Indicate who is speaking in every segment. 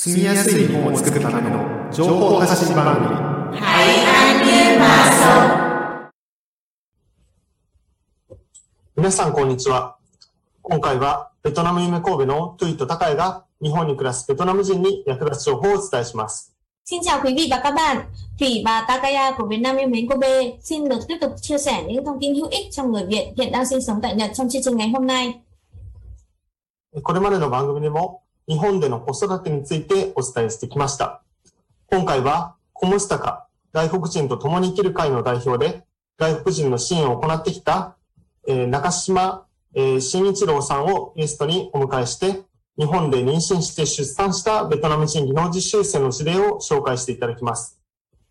Speaker 1: 住みやすい日本を作るための情報発信番組
Speaker 2: 皆さんこんにちは。今回はベトナム夢神戸のトゥイとタカエが日本に暮らすベトナム人に役立つ情報をお伝えします。
Speaker 3: Xin chào quý vị và các bạn, Thủy và Takaya của Việt Nam yêu mến Kobe xin được tiếp tục chia sẻ những thông tin hữu ích cho người Việt hiện đang sinh sống tại Nhật trong chương trình ngày hôm nay.
Speaker 2: これまでの番組でも日本での子育てについてお伝えしてきました。今回はコムスタカ、外国人と共に生きる会の代表で外国人の支援を行ってきた、中島、慎一郎さんをゲストにお迎えして日本で妊娠して出産したベトナム人技能実習生の事例を紹介していただきます。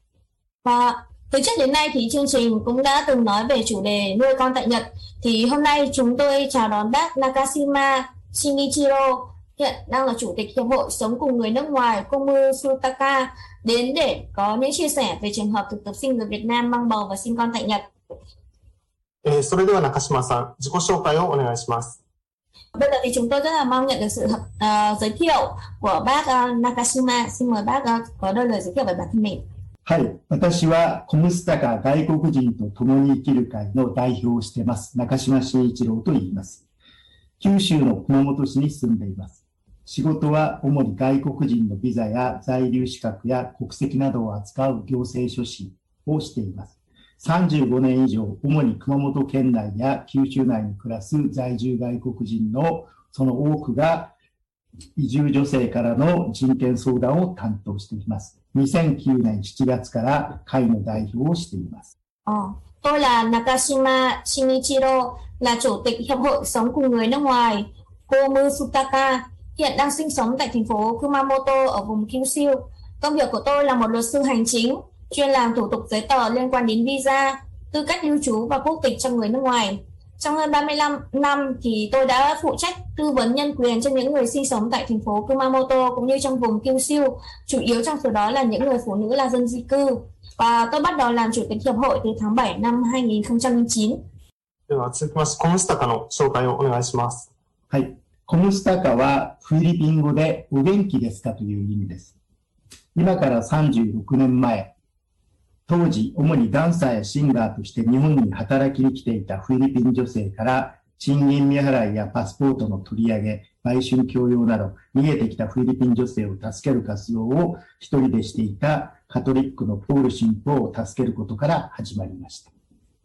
Speaker 3: Và từ trước đến nay thì chương trình cũng đã từng nói về chủ đề nuôi con tại Nhật. Thì hôm nay chúng tôi chào đón bác Nakashima Shinichiro, hiện đang là chủ tịch Hiệp hội Sống cùng người nước ngoài Komusutaka, đến để có những chia sẻ về trường hợp thực tập sinh người Việt Nam mang bầu và sinh con tại Nhật.
Speaker 2: それでは中島さん、自己紹介をお願いします。
Speaker 3: Bây giờ thì chúng tôi rất là mong nhận được sự giới thiệu của bác Nakashima. Xin mời bác có đôi lời giới thiệu về bản thân mình.
Speaker 4: はい、私はコムスタカ外国人と共に生きる会の代表をしています。中島慎一郎と言います。九州の熊本市に住んでいます。仕事は主に外国人のビザや在留資格や国籍などを扱う行政書士をしています。35年以上、主に熊本県内や九州内に暮らす在住外国人のその多くが移住女性からの人権相談を担当しています。2009年7月から会の代表をしています。
Speaker 3: Tôi là Nakashima Shinichiro, là chủ tịch Hiệp hội Sống cùng người nước ngoài Komusutaka, hiện đang sinh sống tại thành phố Kumamoto ở vùng Kyushu. Công việc của tôi là một luật sư hành chính, chuyên làm thủ tục giấy tờ liên quan đến visa, tư cách lưu trú và quốc tịch cho người nước ngoài. Trong hơn 35 năm thì tôi đã phụ trách tư vấn nhân quyền cho những người sinh sống tại thành phố Kumamoto cũng như trong vùng Kyushu, chủ yếu trong số đó là những người phụ nữ là dân di cư. Và tôi bắt đầu làm chủ tịch hiệp hội từ tháng 7 năm 2009.
Speaker 2: では続きましてコムスタカの紹介をお願いします。
Speaker 4: はい、コムスタカはフィリピン語でお元気ですかという意味です。今から36年前、当時主にダンサーやシンガーとして日本に働きに来ていたフィリピン女性から賃金未払いやパスポートの取り上げ、売春強要など逃げてきたフィリピン女性を助ける活動を一人でしていたカトリックのポール神父を助けることから始まりました。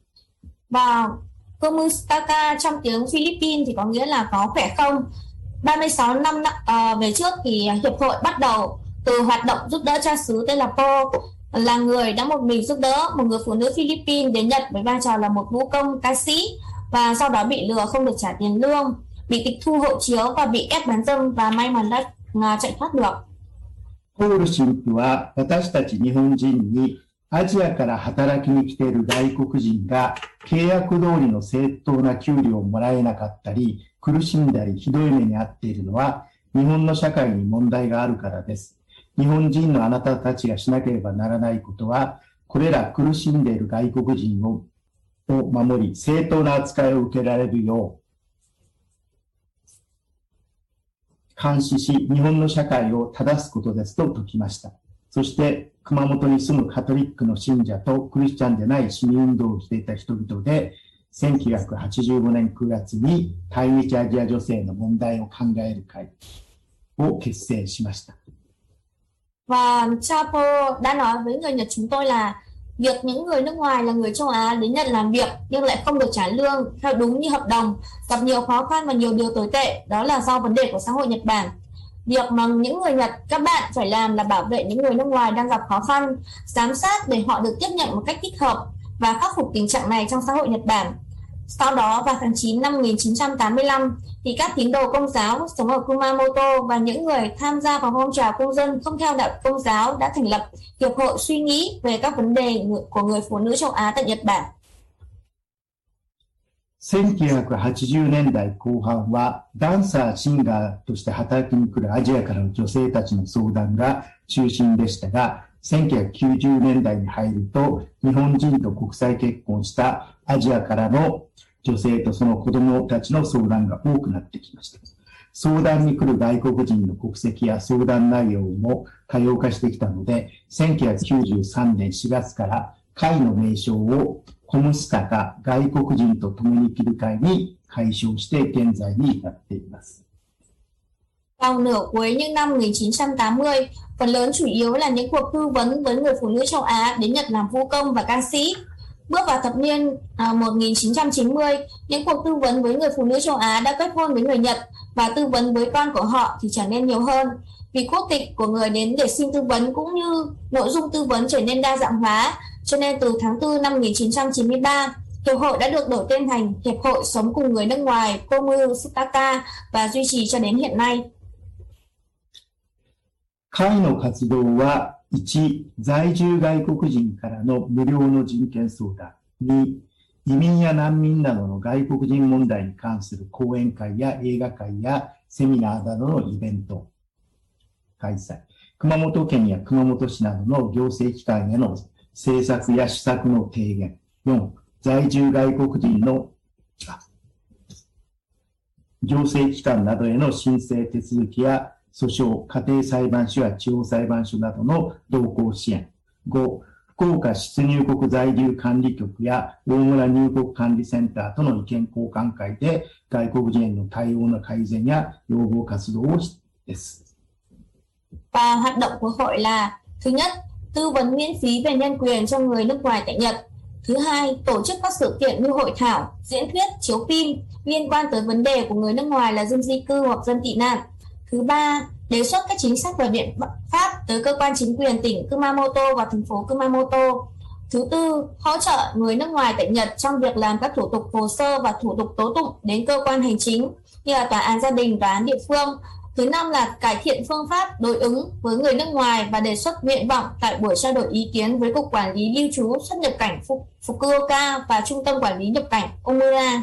Speaker 3: Và Komustaka trong tiếng Philippines thì có nghĩa là có khỏe không. 36 năm về trước thì hiệp hội bắt đầu từ hoạt động giúp đỡ cha xứ tên là Po, là người đã một mình giúp đỡ một người phụ nữ Philippines đến Nhật với vai trò là một vũ công ca sĩ, và sau đó bị lừa không được trả tiền lương, bị tịch thu hộ chiếu và bị ép bán dâm, và may mắn đã chạy thoát được.
Speaker 4: ポール神父は私たち日本人にアジアから働きに来ている外国人が契約通りの正当な給料をもらえなかったり苦しんだりひどい目に遭っているのは日本の社会に問題があるからです。日本人のあなたたちがしなければならないことはこれら苦しんでいる外国人を守り正当な扱いを受けられるよう監視し、日本の社会を正すことですと説きました。そして、熊本に住むカトリックの信者とクリスチャンでない市民運動をしていた人々で、1985年9月に対日アジア女性の問題を考える会を結成しました。
Speaker 3: Và Chapo đã nói với người Nhật chúng tôi là việc những người nước ngoài là người châu Á đến Nhật làm việc nhưng lại không được trả lương theo đúng như hợp đồng, gặp nhiều khó khăn và nhiều điều tồi tệ, đó là do vấn đề của xã hội Nhật Bản. Việc mà những người Nhật, các bạn phải làm là bảo vệ những người nước ngoài đang gặp khó khăn, giám sát để họ được tiếp nhận một cách thích hợp và khắc phục tình trạng này trong xã hội Nhật Bản. Sau đó vào tháng 9 năm 1985 thì các tín đồ Công giáo sống ở Kumamoto và những người tham gia vào phong trào công dân không theo đạo Công giáo đã thành lập Hiệp hội suy nghĩ về các vấn đề của người phụ nữ châu Á tại Nhật Bản.
Speaker 4: 1980年代後半はダンサー、シンガーとして働きに来るアジアからの女性たちの相談が中心でしたが、1990年代に入ると日本人と国際結婚したアジアからの女性とその子供たちの相談が多くなってきました。 相談に来る外国人の国籍や相談内容も多様化してきたので、1993年4月から会の名称をコムスタカ外国人と共に生きる会に改称して現在に至っています。
Speaker 3: Vào nửa cuối những năm 1980, phần lớn chủ yếu là những cuộc tư vấn với người phụ nữ châu Á đến Nhật làm phu công và ca sĩ. Bước vào thập niên 1990, những cuộc tư vấn với người phụ nữ châu Á đã kết hôn với người Nhật và tư vấn với con của họ thì trở nên nhiều hơn. Vì quốc tịch của người đến để xin tư vấn cũng như nội dung tư vấn trở nên đa dạng hóa, cho nên từ tháng 4 năm 1993, Hiệp hội đã được đổi tên thành Hiệp hội Sống cùng người nước ngoài Komustaka và duy trì cho đến hiện nay.
Speaker 4: 会の活動は、1、在住外国人からの無料の人権相談。2、移民や難民などの外国人問題に関する講演会や映画会やセミナーなどのイベント開催。熊本県や熊本市などの行政機関への政策や施策の提言。4、在住外国人の行政機関などへの申請手続きや訴訟、家庭裁判所や地方裁判所などの同行支援。5、福岡出入国在留管理局や大村入国管理センターとの意見交換会で外国人への対応の改善や要望活動をです。
Speaker 3: Và hoạt động của hội là: thứ nhất, tư vấn miễn phí về nhân quyền cho người nước ngoài tại Nhật. Thứ hai, tổ chức các sự kiện như hội thảo, diễn thuyết, chiếu phim liên quan tới vấn đề của người nước ngoài là dân di cư hoặc dân tị nạn. Thứ ba, đề xuất các chính sách và biện pháp tới cơ quan chính quyền tỉnh Kumamoto và thành phố Kumamoto. Thứ tư, hỗ trợ người nước ngoài tại Nhật trong việc làm các thủ tục hồ sơ và thủ tục tố tụng đến cơ quan hành chính như là tòa án gia đình, tòa án địa phương. Thứ năm là cải thiện phương pháp đối ứng với người nước ngoài và đề xuất nguyện vọng tại buổi trao đổi ý kiến với Cục Quản lý Lưu trú xuất nhập cảnh Fukuoka và Trung tâm Quản lý nhập cảnh Omura.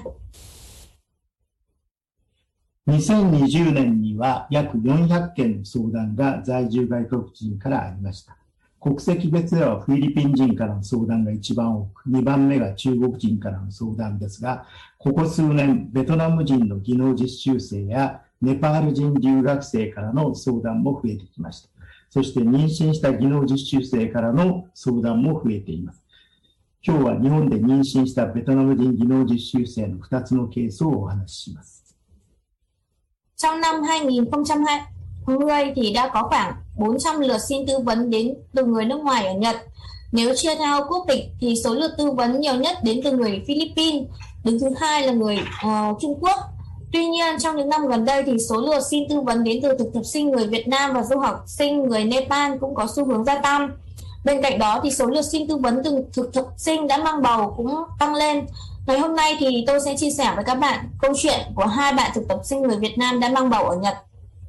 Speaker 4: 2020年には約400件の相談が在住外国人からありました。国籍別ではフィリピン人からの相談が一番多く、2番目が中国人からの相談ですが、ここ数年、ベトナム人の技能実習生やネパール人留学生からの相談も増えてきました。そして妊娠した技能実習生からの相談も増えています。今日は日本で妊娠したベトナム人技能実習生の2つのケースをお話しします。
Speaker 3: Trong năm 2020 thì đã có khoảng 400 lượt xin tư vấn đến từ người nước ngoài ở Nhật. Nếu chia theo quốc tịch thì số lượt tư vấn nhiều nhất đến từ người Philippines, đứng thứ hai là người Trung Quốc. Tuy nhiên, trong những năm gần đây thì số lượt xin tư vấn đến từ thực tập sinh người Việt Nam và du học sinh người Nepal cũng có xu hướng gia tăng. Bên cạnh đó thì số lượt xin tư vấn từ thực tập sinh đã mang bầu cũng tăng lên. Ngày hôm nay thì tôi sẽ chia sẻ với các bạn câu chuyện của hai bạn thực tập sinh người Việt Nam đã mang bầu ở Nhật.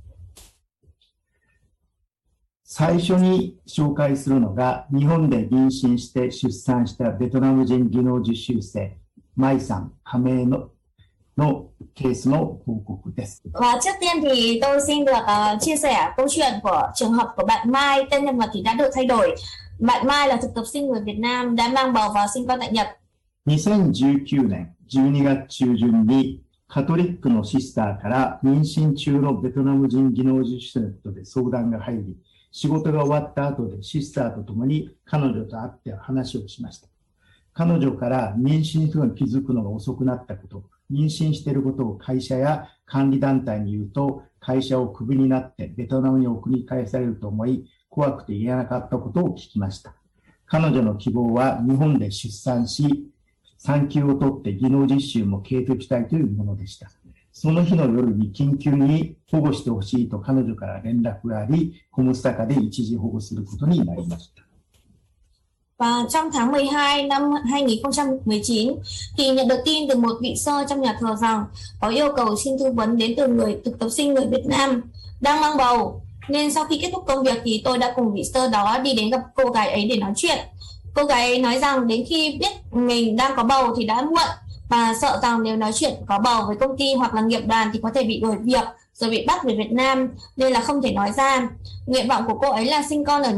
Speaker 4: 最初に紹介するのが、日本で妊娠して出産したベトナム人技能実習生、マイさん、加盟のケースの報告です。
Speaker 3: Và trước tiên thì tôi xin được chia sẻ câu chuyện của trường hợp của bạn Mai, tên nhân vật thì đã được thay đổi. Bạn Mai là thực tập sinh người Việt Nam đã mang bầu và sinh con tại Nhật.
Speaker 4: 2019年12月中旬にカトリックのシスターから妊娠中のベトナム人技能実習生で相談が入り、仕事が終わった後でシスターと共に彼女と会って話をしました。彼女から妊娠するのに気づくのが遅くなったこと、妊娠していることを会社や管理団体に言うと、会社をクビになってベトナムに送り返されると思い、怖くて言えなかったことを聞きました。彼女の希望は日本で出産し、産休を取って技能実習も継続したいというものでした。その日の夜に緊急に保護してほしいと彼女から連絡があり、コムスタカで一時保護することになりました。
Speaker 3: Và trong tháng 12 năm 2019 thì nhận được tin từ một vị sơ trong nhà thờ rằng có yêu cầu xin tư vấn đến từ người thực tập sinh người Việt Nam đang mang bầu. Nên sau khi kết thúc công việc thì tôi đã cùng vị sơ đó đi đến gặp cô gái ấy để nói chuyện. Cô gái ấy nói rằng đến khi biết mình đang có bầu thì đã muộn và sợ rằng nếu nói chuyện có bầu với công ty hoặc là nghiệp đoàn thì có thể bị đuổi việc rồi bị bắt về Việt Nam nên là không thể nói ra. Nguyện vọng của cô ấy là sinh con ở Nhật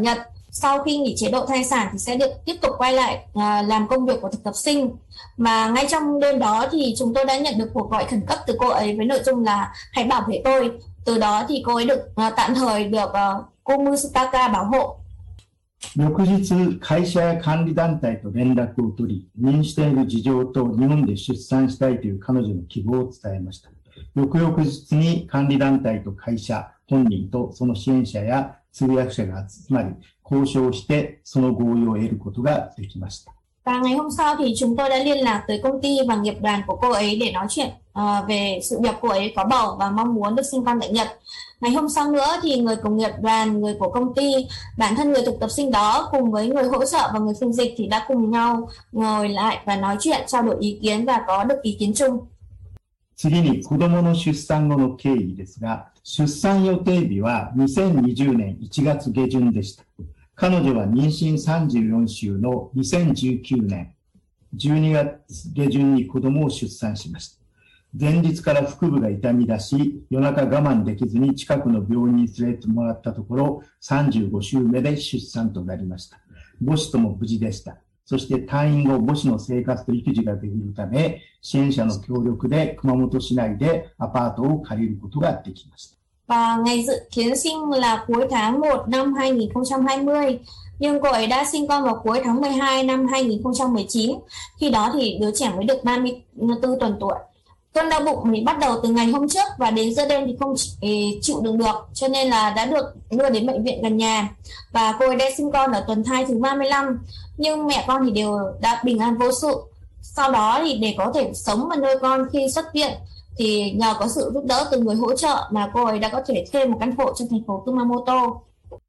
Speaker 3: sau khi nghỉ chế độ thai sản thì sẽ được tiếp tục quay lại làm công việc của thực tập sinh. Mà ngay trong đêm đó thì chúng tôi đã nhận được cuộc gọi khẩn cấp từ cô ấy với nội dung là hãy bảo vệ tôi. Từ đó thì cô ấy được tạm thời được Komustaka bảo hộ.
Speaker 4: 翌日、会社や管理団体と連絡を取り、妊娠している事情と日本で出産したいという彼女の希望を伝えました。翌々日に管理団体と会社、本人とその支援者や通訳者が集まり、交渉してその合意を得ることができました。
Speaker 3: Và ngày hôm sau thì chúng tôi đã liên lạc tới công ty và nghiệp đoàn của cô ấy để nói chuyện về sự việc cô ấy có bầu và mong muốn được sinh con tại Nhật. Ngày hôm sau nữa thì người của nghiệp đoàn, người của công ty, bản thân người thực tập sinh đó cùng với người hỗ trợ và người phiên dịch thì đã cùng nhau ngồi lại và nói chuyện, trao đổi ý kiến và có được ý kiến chung.
Speaker 4: 次に子供の出産後の経緯ですが、出産予定日は2020年1月下旬でした。彼女は妊娠34週の2019年12月下旬に子供を出産しました。前日から腹部が痛み出し、夜中我慢できずに近くの病院に連れてもらったところ、35週目で出産となりました。母子とも無事でした。そして退院後、母子の生活と育児ができるため、支援者の協力で熊本市内でアパートを借りることができました。
Speaker 3: Và ngày dự kiến sinh là cuối tháng 1 năm 2020, nhưng cô ấy đã sinh con vào cuối tháng 12 năm 2019. Khi đó thì đứa trẻ mới được 34 tuần tuổi. Cơn đau bụng thì bắt đầu từ ngày hôm trước và đến giữa đêm thì không chịu đựng được, cho nên là đã được đưa đến bệnh viện gần nhà. Và cô ấy đã sinh con ở tuần thai thứ 35, nhưng mẹ con thì đều đã bình an vô sự. Sau đó thì để có thể sống và nuôi con khi xuất viện thì nhờ có sự giúp đỡ từ người hỗ trợ mà cô ấy đã có thể thuê một căn hộ trong thành phố Kumamoto.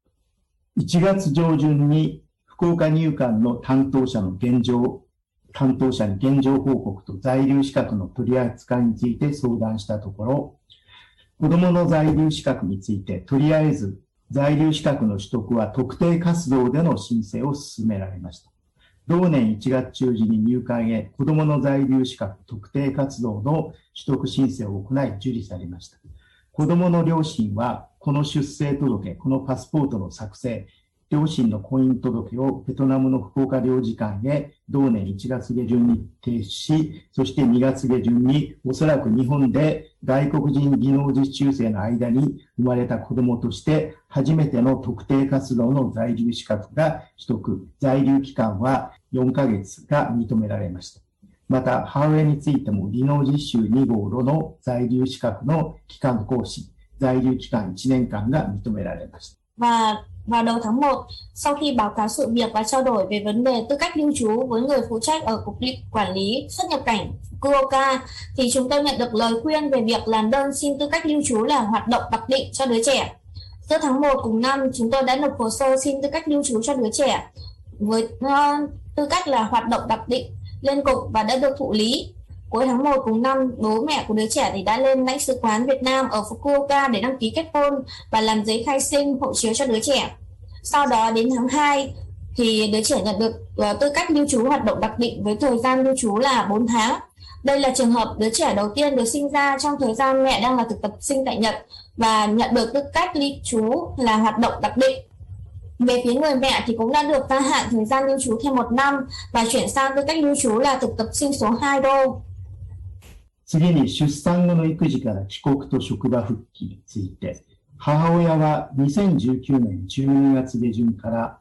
Speaker 4: 1月上旬に福岡入管の担当者に現状報告と在留資格の取り扱いについて相談したところ、子どもの在留資格についてとりあえず在留資格の取得は特定活動での申請を進められました。同年1月中旬に入管へ子どもの在留資格特定活動の取得申請を行い受理されました。子どもの両親はこの出生届、このパスポートの作成、両親の婚姻届をベトナムの福岡領事館へ同年1月下旬に提出し、そして2月下旬におそらく日本で外国人技能実習生の間に生まれた子供として初めての特定活動の在留資格が取得、在留期間は4ヶ月が認められました。また、母親についても技能実習2号路の在留資格の期間更新、在留期間1年間が認められました。
Speaker 3: Và vào đầu tháng 1, sau khi báo cáo sự việc và trao đổi về vấn đề tư cách lưu trú với người phụ trách ở Cục Quản lý xuất nhập cảnh Fukuoka, thì chúng tôi nhận được lời khuyên về việc làm đơn xin tư cách lưu trú là hoạt động đặc định cho đứa trẻ. Giữa tháng 1 cùng năm, chúng tôi đã nộp hồ sơ xin tư cách lưu trú cho đứa trẻ với tư cách là hoạt động đặc định lên cục và đã được thụ lý. Cuối tháng 1 cùng năm, bố mẹ của đứa trẻ thì đã lên lãnh sự quán Việt Nam ở Fukuoka để đăng ký kết hôn và làm giấy khai sinh, hộ chiếu cho đứa trẻ. Sau đó đến tháng 2 thì đứa trẻ nhận được tư cách lưu trú hoạt động đặc định với thời gian lưu trú là 4 tháng. Đây là trường hợp đứa trẻ đầu tiên được sinh ra trong thời gian mẹ đang là thực tập sinh tại Nhật và nhận được tư cách lưu trú là hoạt động đặc định. Về phía người mẹ thì cũng đã được gia hạn thời gian lưu trú thêm 1 năm và chuyển sang tư cách lưu trú là thực tập sinh số 2 đô.
Speaker 4: 次に出産後の育児から帰国と職場復帰について、母親は2019年12月下旬から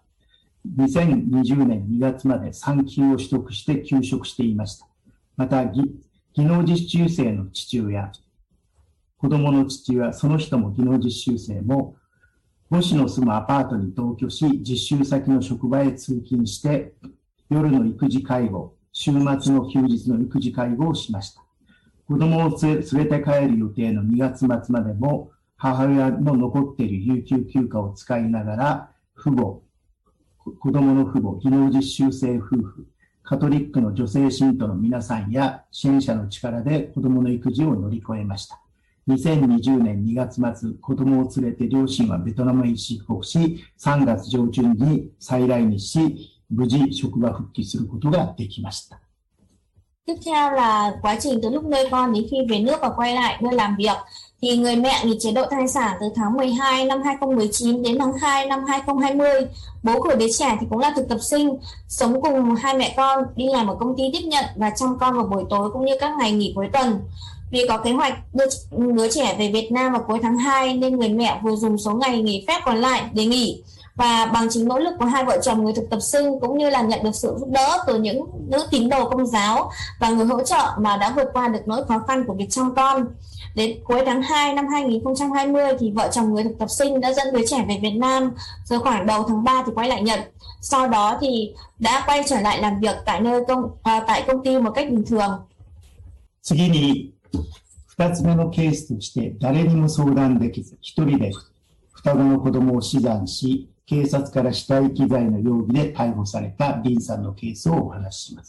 Speaker 4: 2020年2月まで産休を取得して休職していました。また、技能実習生の父親、子供の父親、その人も技能実習生も、母子の住むアパートに同居し、実習先の職場へ通勤して、夜の育児介護、週末の休日の育児介護をしました。子供を連れて帰る予定の2月末までも、母親の残っている有給休暇を使いながら、子供の父母、技能実習生夫婦、カトリックの女性信徒の皆さんや支援者の力で子供の育児を乗り越えました。2020年2月末、子供を連れて両親はベトナムへ出国し、3月上旬に再来日し、無事職場復帰することができました。
Speaker 3: Tiếp theo là quá trình từ lúc nuôi con đến khi về nước và quay lại nơi làm việc. thì người mẹ nghỉ chế độ thai sản từ tháng 12 năm 2019 đến tháng 2 năm 2020. Bố của đứa trẻ thì cũng là thực tập sinh, sống cùng hai mẹ con, đi làm ở công ty tiếp nhận và chăm con vào buổi tối cũng như các ngày nghỉ cuối tuần. Vì có kế hoạch đưa đứa trẻ về Việt Nam vào cuối tháng 2 nên người mẹ vừa dùng số ngày nghỉ phép còn lại để nghỉ. Và bằng chính nỗ lực của hai vợ chồng người thực tập sinh cũng như là nhận được sự giúp đỡ từ những nữ tín đồ công giáo và người hỗ trợ mà đã vượt qua được nỗi khó khăn của việc chăm con. Đến cuối tháng 2 năm 2020 thì vợ chồng người thực tập sinh đã dẫn đứa trẻ về Việt Nam, rồi khoảng đầu tháng 3 thì quay lại Nhật. Sau đó thì đã quay trở lại làm việc tại công ty một cách bình thường.
Speaker 4: 次に、2つ目のケースとして、誰にも相談できず、一人で双子の子供を死産し、警察から死体遺棄罪の容疑で逮捕されたリンさんのケースをお話しします。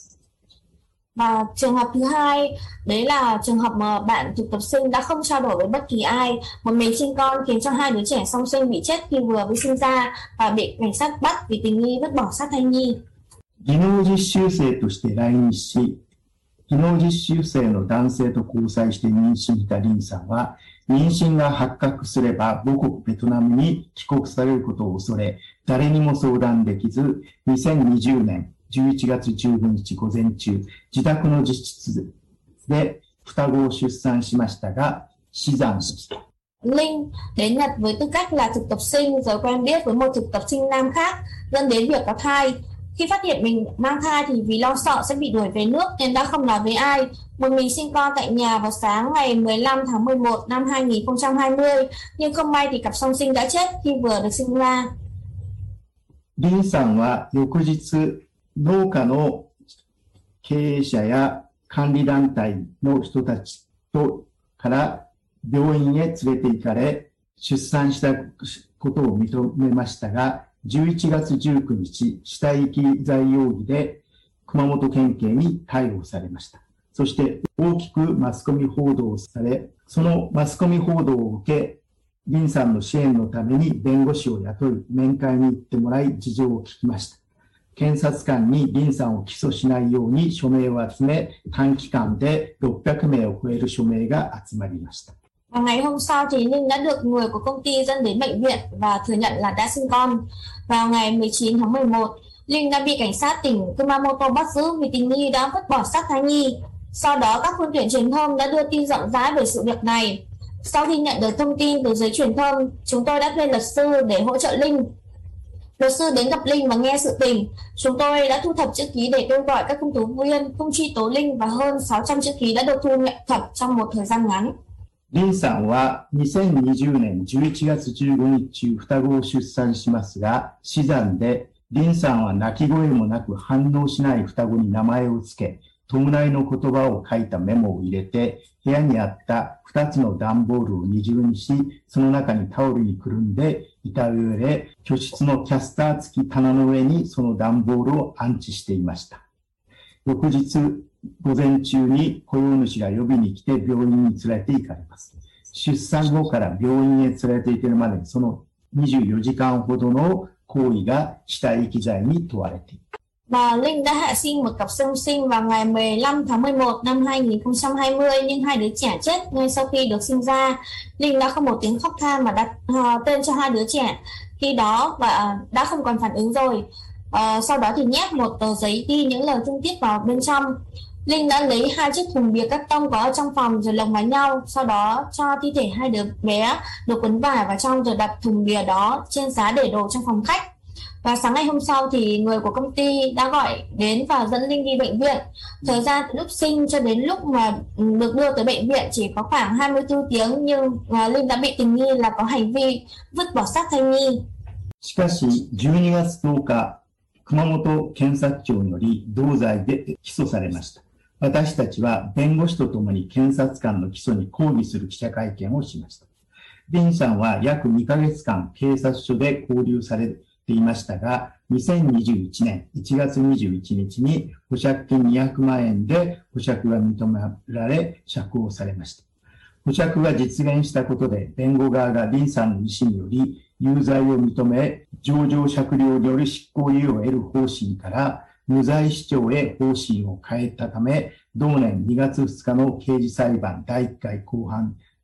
Speaker 3: Và trường hợp thứ hai, đấy là trường hợp mà bạn thực tập sinh đã không trao đổi với bất kỳ ai, một mình sinh con khiến cho hai đứa trẻ song sinh bị chết khi vừa mới sinh ra và bị cảnh sát bắt vì tình nghi vứt bỏ xác thai nhi.
Speaker 4: 技能実習生として来日し、技能実習生の男性と交際して妊娠したリンさんは、妊娠が発覚すれば母国ベトナムに帰国されることを恐れ、誰にも相談できず、2020年11月15日午前中、自宅の自室で双子を出産しましたが、死産しました。
Speaker 3: Linh đến Nhật với tư cách là thực tập sinh rồi quen biết với một thực tập sinh nam khác, dẫn đến việc có thai. Khi phát hiện mình mang thai thì vì lo sợ sẽ bị đuổi về nước nên đã không nói với ai. Một mình sinh con tại nhà vào sáng ngày 15 tháng 11 năm 2020, nhưng không may thì cặp song sinh đã chết khi vừa được sinh ra.
Speaker 4: リンさんは翌日、農家の経営者や管理団体の人たちから病院へ連れて行かれ、出産したことを認めましたが、11月19日、死体遺棄罪容疑で熊本県警に逮捕されました。そして大きくマスコミ報道され、そのマスコミ報道を受け、リンさんの支援のために弁護士を雇い、面会に行ってもらい事情を聞きました。検察官にリンさんを起訴しないように署名を集め、短期間で600名を超える署名が集まりました。
Speaker 3: Và ngày hôm sau thì Linh đã được người của công ty dẫn đến bệnh viện và thừa nhận là đã sinh con. Vào ngày 19 tháng 11, Linh đã bị cảnh sát tỉnh Kumamoto bắt giữ vì tình nghi đã vứt bỏ xác thai nhi. Sau đó các phương tiện truyền thông đã đưa tin rộng rãi về sự việc này. Sau khi nhận được thông tin từ giới truyền thông, chúng tôi đã thuê luật sư để hỗ trợ Linh. Luật sư đến gặp Linh và nghe sự tình. Chúng tôi đã thu thập chữ ký để kêu gọi các công tố viên không truy tố Linh và hơn 600 chữ ký đã được thu thập trong một thời gian ngắn.
Speaker 4: リンさんは2020年11月15日、双子を出産しますが、死産で、リンさんは泣き声もなく反応しない双子に名前をつけ、弔いの言葉を書いたメモを入れて、部屋にあった2つの段ボールを二重にし、その中にタオルにくるんで遺体を入れ、居室のキャスター付き棚の上にその段ボールを安置していました。翌日、午前中に雇用主が呼びに来て病院に連れて行かれます。出産後から病院へ連れて行けるまでその24時間ほどの行為が死体遺棄罪に問われている。
Speaker 3: Và Linh đã hạ sinh một cặp song sinh vào ngày 15 tháng 11 năm 2020 nhưng hai đứa trẻ chết ngay sau khi được sinh ra. Linh đã không một tiếng khóc than mà đặt tên cho hai đứa trẻ khi đó và đã không còn phản ứng rồi. Sau đó thì nhét một tờ giấy ghi những lời thương tiếc vào bên trong. Linh đã lấy hai chiếc thùng bìa cắt tông có ở trong phòng rồi lồng vào nhau, sau đó cho thi thể hai đứa bé được quấn vải vào trong rồi đặt thùng bìa đó trên giá để đồ trong phòng khách. Và sáng ngày hôm sau thì người của công ty đã gọi đến và dẫn Linh đi bệnh viện. Thời gian từ lúc sinh cho đến lúc mà được đưa tới bệnh viện chỉ có khoảng 24 tiếng nhưng Linh đã bị tình nghi là có hành vi vứt bỏ xác thai nhi.
Speaker 4: しかし、12月10日、熊本検察庁により同罪で起訴されました。私たちは弁護士とともに検察官の起訴に抗議する記者会見をしました。リンさんは約2ヶ月間警察署で勾留されていましたが、2021年1月21日に保釈金200万円で保釈が認められ釈放されました。保釈が実現したことで弁護側がリンさんの意思により有罪を認め、情状酌量による執行猶予を得る方針から無罪主張へ方針を変えたため、同年2月2日の刑事裁判第1回公判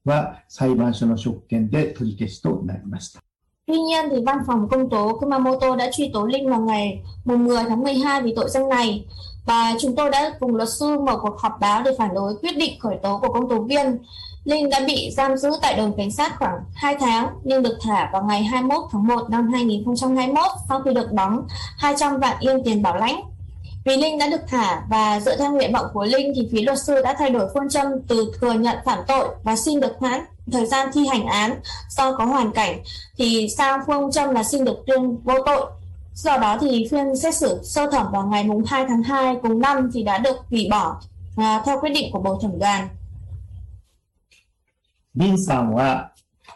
Speaker 4: は裁判所の職権で取り消しとなりました。
Speaker 3: Tuy nhiên thì văn phòng công tố Kumamoto đã truy tố Linh vào ngày 10 tháng 12 vì tội danh này. Và chúng tôi đã cùng luật sư mở cuộc họp báo để phản đối quyết định khởi tố của công tố viên. Linh đã bị giam giữ tại đồn cảnh sát khoảng 2 tháng nhưng được thả vào ngày 21 tháng 1 năm 2021 sau khi được đóng 200 vạn yên tiền bảo lãnh. Vì Linh đã được thả và dựa theo nguyện vọng của Linh thì phía luật sư đã thay đổi phương châm từ thừa nhận phạm tội và xin được hoãn thời gian thi hành án do có hoàn cảnh thì sang phương châm là xin được tuyên vô tội. Do đó thì phiên xét xử sơ thẩm vào ngày 2 tháng 2 cùng năm thì đã được hủy bỏ theo quyết định của bồi thẩm đoàn.
Speaker 4: リンさんは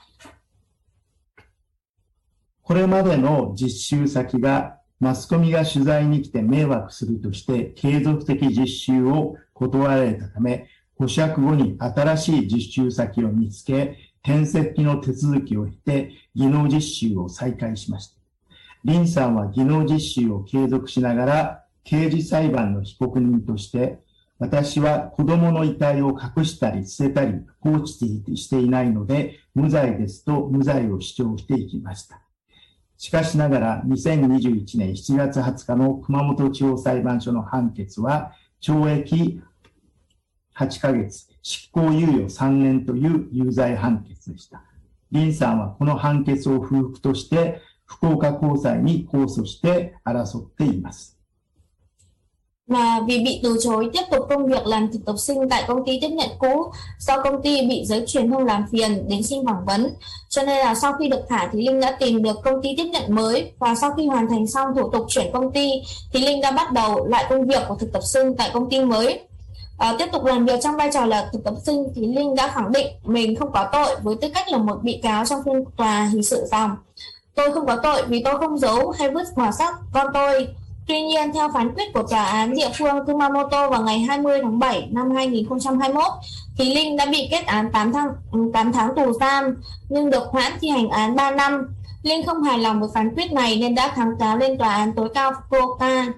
Speaker 4: これまでの実習先がマスコミが取材に来て迷惑するとして継続的実習を断られたため、保釈後に新しい実習先を見つけ、転籍の手続きを経て技能実習を再開しました。リンさんは技能実習を継続しながら刑事裁判の被告人として、私は子供の遺体を隠したり捨てたり放置していないので無罪ですと無罪を主張していきました。しかしながら2021年7月20日の熊本地方裁判所の判決は懲役8ヶ月、執行猶予3年という有罪判決でした。リンsaんはこの判決を不服として福岡高裁に控訴して争っています。
Speaker 3: Mà vì bị từ chối tiếp tục công việc làm thực tập sinh tại công ty tiếp nhận cũ do công ty bị giới truyền thông làm phiền đến xin phỏng vấn, cho nên là sau khi được thả thì Linh đã tìm được công ty tiếp nhận mới và sau khi hoàn thành xong thủ tục chuyển công ty thì Linh đã bắt đầu lại công việc của thực tập sinh tại công ty mới. Tiếp tục làm việc trong vai trò là thực tập sinh thì Linh đã khẳng định mình không có tội với tư cách là một bị cáo trong phiên tòa hình sự rằng tôi không có tội vì tôi không giấu hay vứt bỏ xác con tôi. Tuy nhiên, theo phán quyết của tòa án địa phương Kumamoto vào ngày 20 tháng 7 năm 2021, thì Linh đã bị kết án 8 tháng tù giam, nhưng được hoãn thi hành án 3 năm. Linh không hài lòng với phán quyết này nên đã kháng cáo lên tòa án tối cao Fukuoka.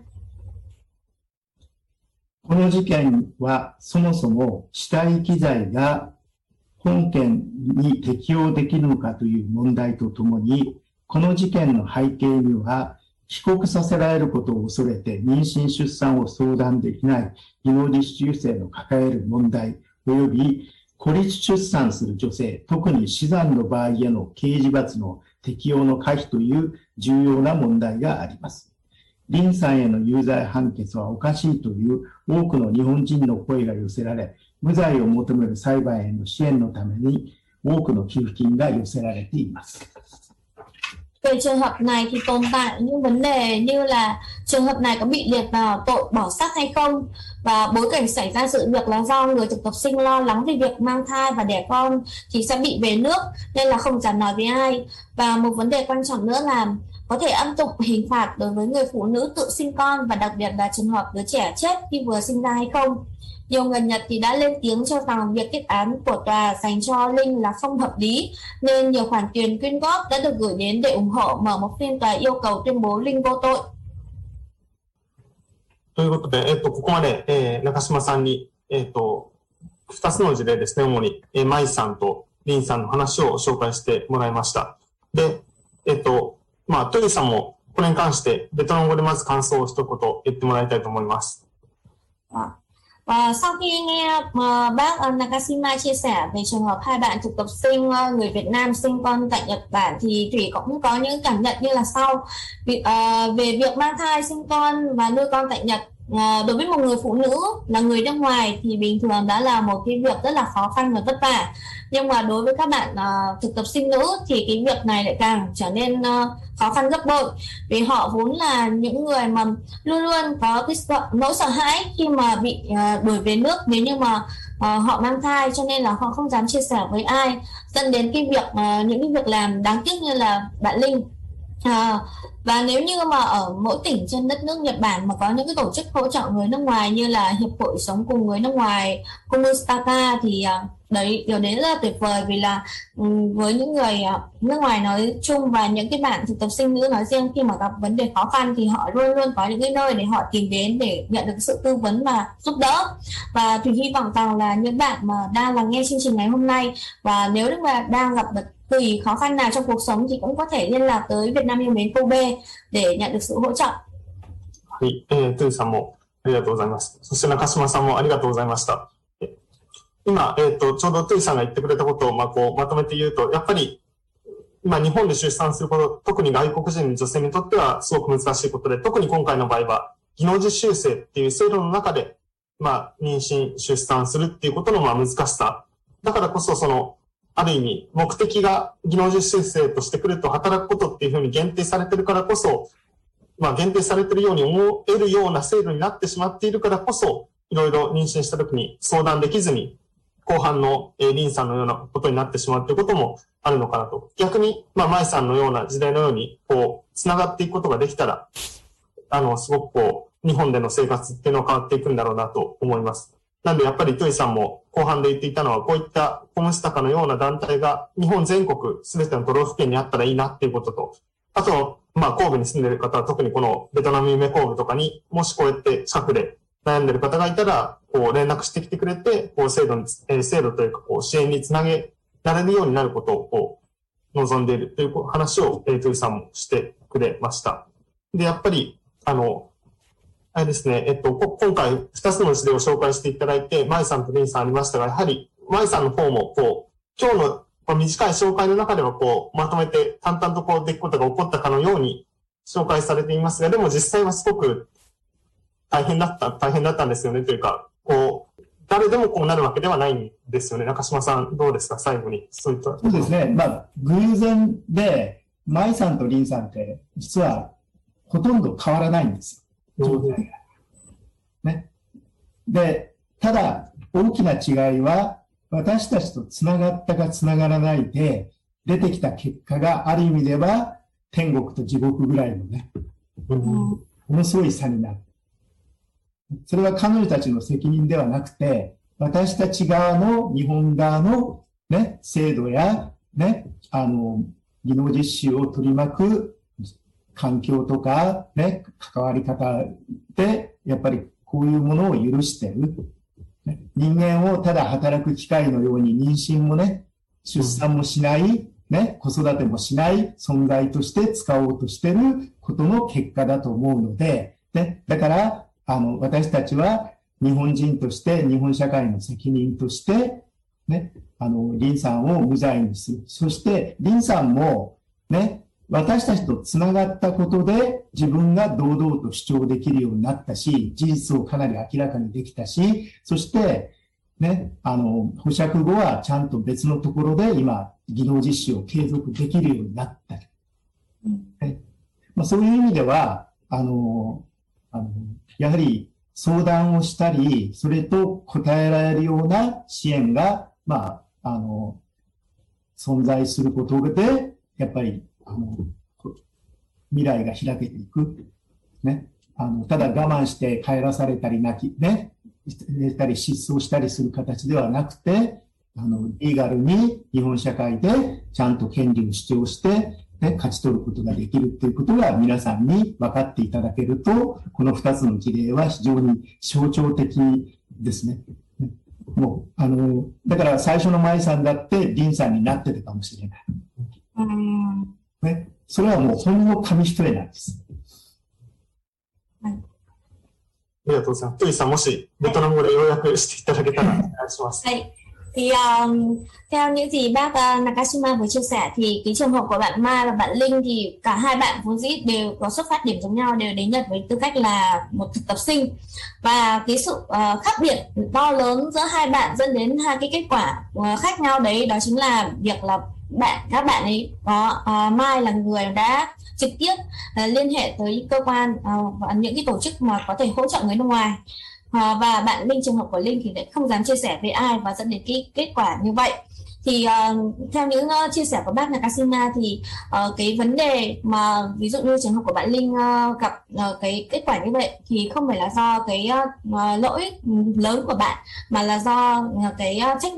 Speaker 4: この事件はそもそも死体機材が本件に適用できるのかという問題とともに、この事件の背景には帰国させられることを恐れて妊娠出産を相談できない技能実習生の抱える問題及び孤立出産する女性、特に死産の場合への刑事罰の適用の可否という重要な問題があります。リンさんへの有罪判決はおかしいという多くの日本人の声が寄せられ、無罪を求める裁判への支援のために多くの寄付金が寄せられています。
Speaker 3: Về trường hợp này thì tồn tại những vấn đề như là trường hợp này có bị liệt vào tội bỏ xác hay không, và bối cảnh xảy ra sự việc là do người thực tập sinh lo lắng về việc mang thai và đẻ con thì sẽ bị về nước nên là không dám nói với ai. Và một vấn đề quan trọng nữa là có thể áp dụng hình phạt đối với người phụ nữ tự sinh con và đặc biệt là trường hợp đứa trẻ chết khi vừa sinh ra hay không. Nhiều người Nhật thì đã lên tiếng cho rằng việc kết án của tòa dành cho Linh là không hợp lý nên nhiều khoản tiền quyên góp đã được gửi đến để ủng hộ mở một phiên tòa yêu cầu tuyên bố Linh vô tội.
Speaker 2: ということで、ここまで、中島さんに、2つの事例ですね、主に、マイさんとリンさんの話を紹介してもらいました。で、トイさんもこれに関してベトナム語でまず感想を一言言ってもらいたいと思います。
Speaker 3: Và sau khi nghe bác Nakashima chia sẻ về trường hợp hai bạn thực tập sinh người Việt Nam sinh con tại Nhật Bản thì Thủy cũng có những cảm nhận như là sau. Về việc mang thai, sinh con và nuôi con tại Nhật, đối với một người phụ nữ là người nước ngoài thì bình thường đã là một cái việc rất là khó khăn và vất vả. Nhưng mà đối với các bạn thực tập sinh nữ thì cái việc này lại càng trở nên khó khăn gấp bội, vì họ vốn là những người mà luôn luôn có cái nỗi sợ hãi khi mà bị đuổi về nước nếu như mà họ mang thai, cho nên là họ không dám chia sẻ với ai, dẫn đến cái việc những cái việc làm đáng tiếc như là bạn Linh. Và nếu như mà ở mỗi tỉnh trên đất nước Nhật Bản mà có những cái tổ chức hỗ trợ người nước ngoài như là Hiệp hội Sống cùng người nước ngoài Komustaka thì đấy, điều đấy rất là tuyệt vời, vì là với những người nước ngoài nói chung và những cái bạn thực tập sinh nữ nói riêng, khi mà gặp vấn đề khó khăn thì họ luôn luôn có những cái nơi để họ tìm đến để nhận được sự tư vấn và giúp đỡ. Và Thùy hy vọng rằng là những bạn mà đang lắng nghe chương trình ngày hôm nay, và nếu như mà đang gặp bất kỳ khó khăn nào trong cuộc sống thì cũng có thể liên lạc tới Việt Nam yêu mến Kobe để nhận được sự hỗ trợ.
Speaker 2: はい、トゥーさんもありがとうございます。そして中島さんもありがとうございました。今、ちょうどトゥーさんが言ってくれたことを、まとめて言うと、やっぱり、今日本で出産すること、特に外国人の女性にとってはすごく難しいことで、特に今回の場合は、技能実習生っていう制度の中で、妊娠、出産するっていうことの難しさ。だからこそ、ある意味、目的が技能実習生としてくると働くことっていうふうに限定されてるからこそ、限定されてるように思えるような制度になってしまっているからこそ、いろいろ妊娠した時に相談できずに、後半のリンさんのようなことになってしまうということもあるのかなと。逆に、マイさんのような時代のように、繋がっていくことができたら、すごく日本での生活っていうのは変わっていくんだろうなと思います。なんでやっぱりトゥイさんも後半で言っていたのは、こういったコムスタカのような団体が日本全国すべての都道府県にあったらいいなっていうことと、あと、神戸に住んでいる方は特にこのベトナム夢神戸とかにもしこうやって近くで悩んでいる方がいたら、連絡してきてくれて、制度というか、支援につなげられるようになることを、望んでいるという話を、トゥイさんもしてくれました。で、やっぱり、あれですね、今回2つの事例を紹介していただいて、マイさんとリンさんありましたが、やはり、マイさんの方も、今日の短い紹介の中では、まとめて淡々と出来事が起こったかのように紹介されていますが、でも実際はすごく大変だったんですよね、というか、誰でもこうなるわけではないんですよね。中島さん、どうですか、最後に。そう
Speaker 4: ですね。偶然で、マイさんとリンさんって、実は、ほとんど変わらないんですよ。状態が。ね。で、ただ、大きな違いは、私たちと繋がったか繋がらないで、出てきた結果がある意味では、天国と地獄ぐらいのね、ものすごい差になる。それは彼女たちの責任ではなくて、私たち側の、日本側のね、制度や、ね、技能実習を取り巻く環境とか、ね、関わり方で、やっぱりこういうものを許してる。人間をただ働く機会のように妊娠もね、出産もしない、ね、子育てもしない存在として使おうとしてることの結果だと思うので、ね、だから、私たちは日本人として、日本社会の責任として、ね、リンさんを無罪にする。そして、リンさんも、ね、私たちと繋がったことで自分が堂々と主張できるようになったし、事実をかなり明らかにできたし、そして、ね、保釈後はちゃんと別のところで今、技能実習を継続できるようになった。そういう意味では、やはり相談をしたり、それと応えられるような支援が、存在することで、やっぱり、未来が開けていく。ね。ただ我慢して帰らされたり寝たり失踪したりする形ではなくて、リーガルに日本社会でちゃんと権利を主張して、ね、勝ち取ることができるということが皆さんに分かっていただけると、この2つの事例は非常に象徴的ですね。もう、だから最初の舞さんだってリンさんになってたかもしれない。ね、それはもうほんの紙一重なんです。
Speaker 2: ありがとうございます。トゥイさん、もしベトナム語で要約していただけたらお願いします。
Speaker 3: はい。Thì theo những gì bác Nakashima vừa chia sẻ thì cái trường hợp của bạn Mai và bạn Linh thì cả hai bạn vốn dĩ đều có xuất phát điểm giống nhau, đều đến Nhật với tư cách là một thực tập sinh, và cái sự khác biệt to lớn giữa hai bạn dẫn đến hai cái kết quả khác nhau đấy, đó chính là việc là các bạn ấy có Mai là người đã trực tiếp liên hệ tới cơ quan và những cái tổ chức mà có thể hỗ trợ người nước ngoài. Và bạn Linh, trường hợp của Linh thì lại không dám chia sẻ với ai và dẫn đến cái kết quả như vậy. Thì theo những chia sẻ của bác Nakashima thì cái vấn đề mà ví dụ như trường hợp của bạn Linh gặp cái kết quả như vậy thì không phải là do cái lỗi lớn của bạn, mà là do cái trách nhiệm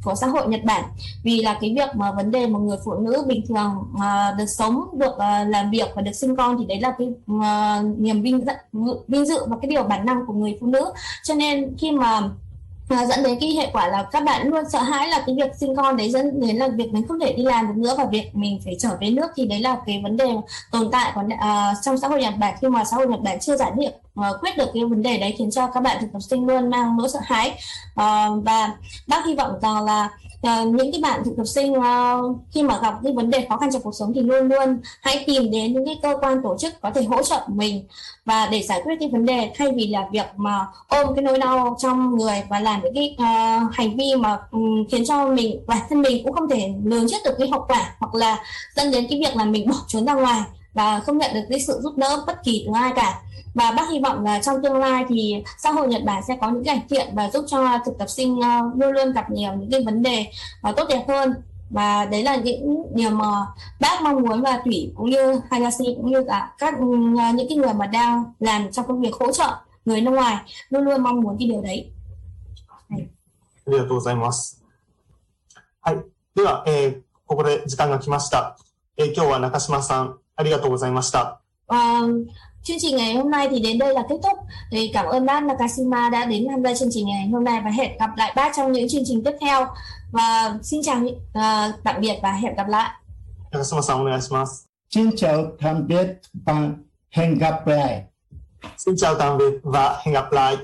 Speaker 3: của xã hội Nhật Bản, vì là cái việc mà vấn đề một người phụ nữ bình thường được sống, được làm việc và được sinh con thì đấy là cái niềm vinh dự và cái điều bản năng của người phụ nữ. Cho nên khi mà dẫn đến cái hệ quả là các bạn luôn sợ hãi là cái việc sinh con đấy dẫn đến là việc mình không thể đi làm được nữa và việc mình phải trở về nước, thì đấy là cái vấn đề tồn tại của trong xã hội Nhật Bản, khi mà xã hội Nhật Bản chưa giải quyết được cái vấn đề đấy, khiến cho các bạn thực tập sinh luôn mang nỗi sợ hãi. Và bác hy vọng rằng là những cái bạn thực tập sinh khi mà gặp cái vấn đề khó khăn trong cuộc sống thì luôn luôn hãy tìm đến những cái cơ quan tổ chức có thể hỗ trợ mình và để giải quyết cái vấn đề, thay vì là việc mà ôm cái nỗi đau trong người và làm những cái hành vi mà khiến cho mình bản thân mình cũng không thể lường trước được cái hậu quả, hoặc là dẫn đến cái việc là mình bỏ trốn ra ngoài và không nhận được cái sự giúp đỡ bất kỳ từ ai cả. Và bác hy vọng là trong tương lai thì xã hội Nhật Bản sẽ có những cải thiện và giúp cho thực tập sinh luôn luôn gặp nhiều những cái vấn đề tốt đẹp hơn. Và đấy là những điều mà bác mong muốn, và Thủy cũng như Hayashi cũng như cả các những cái người mà đang làm trong công việc hỗ trợ người nước ngoài luôn luôn mong muốn cái điều đấy.
Speaker 2: ありがとうございます。はい。では、ここで時間が来ました。今日は中島さん、ありがとうございました。
Speaker 3: Chương trình ngày hôm nay thì đến đây là kết thúc. Thì cảm ơn bác Nakashima đã đến tham gia chương trình ngày hôm nay và hẹn gặp lại bác trong những chương trình tiếp theo. Và xin chào, tạm biệt và hẹn gặp lại.
Speaker 2: Nakashimaさん、お願いします。
Speaker 4: Xin chào tạm biệt và hẹn gặp lại.
Speaker 2: Xin chào tạm biệt và hẹn gặp lại.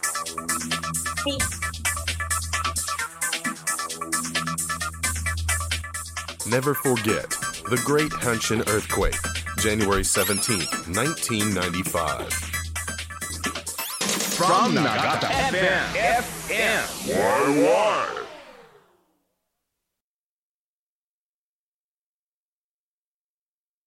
Speaker 1: Never forget the Great Hanshin Earthquake, January 17th, 1995.
Speaker 5: From Nagata FM.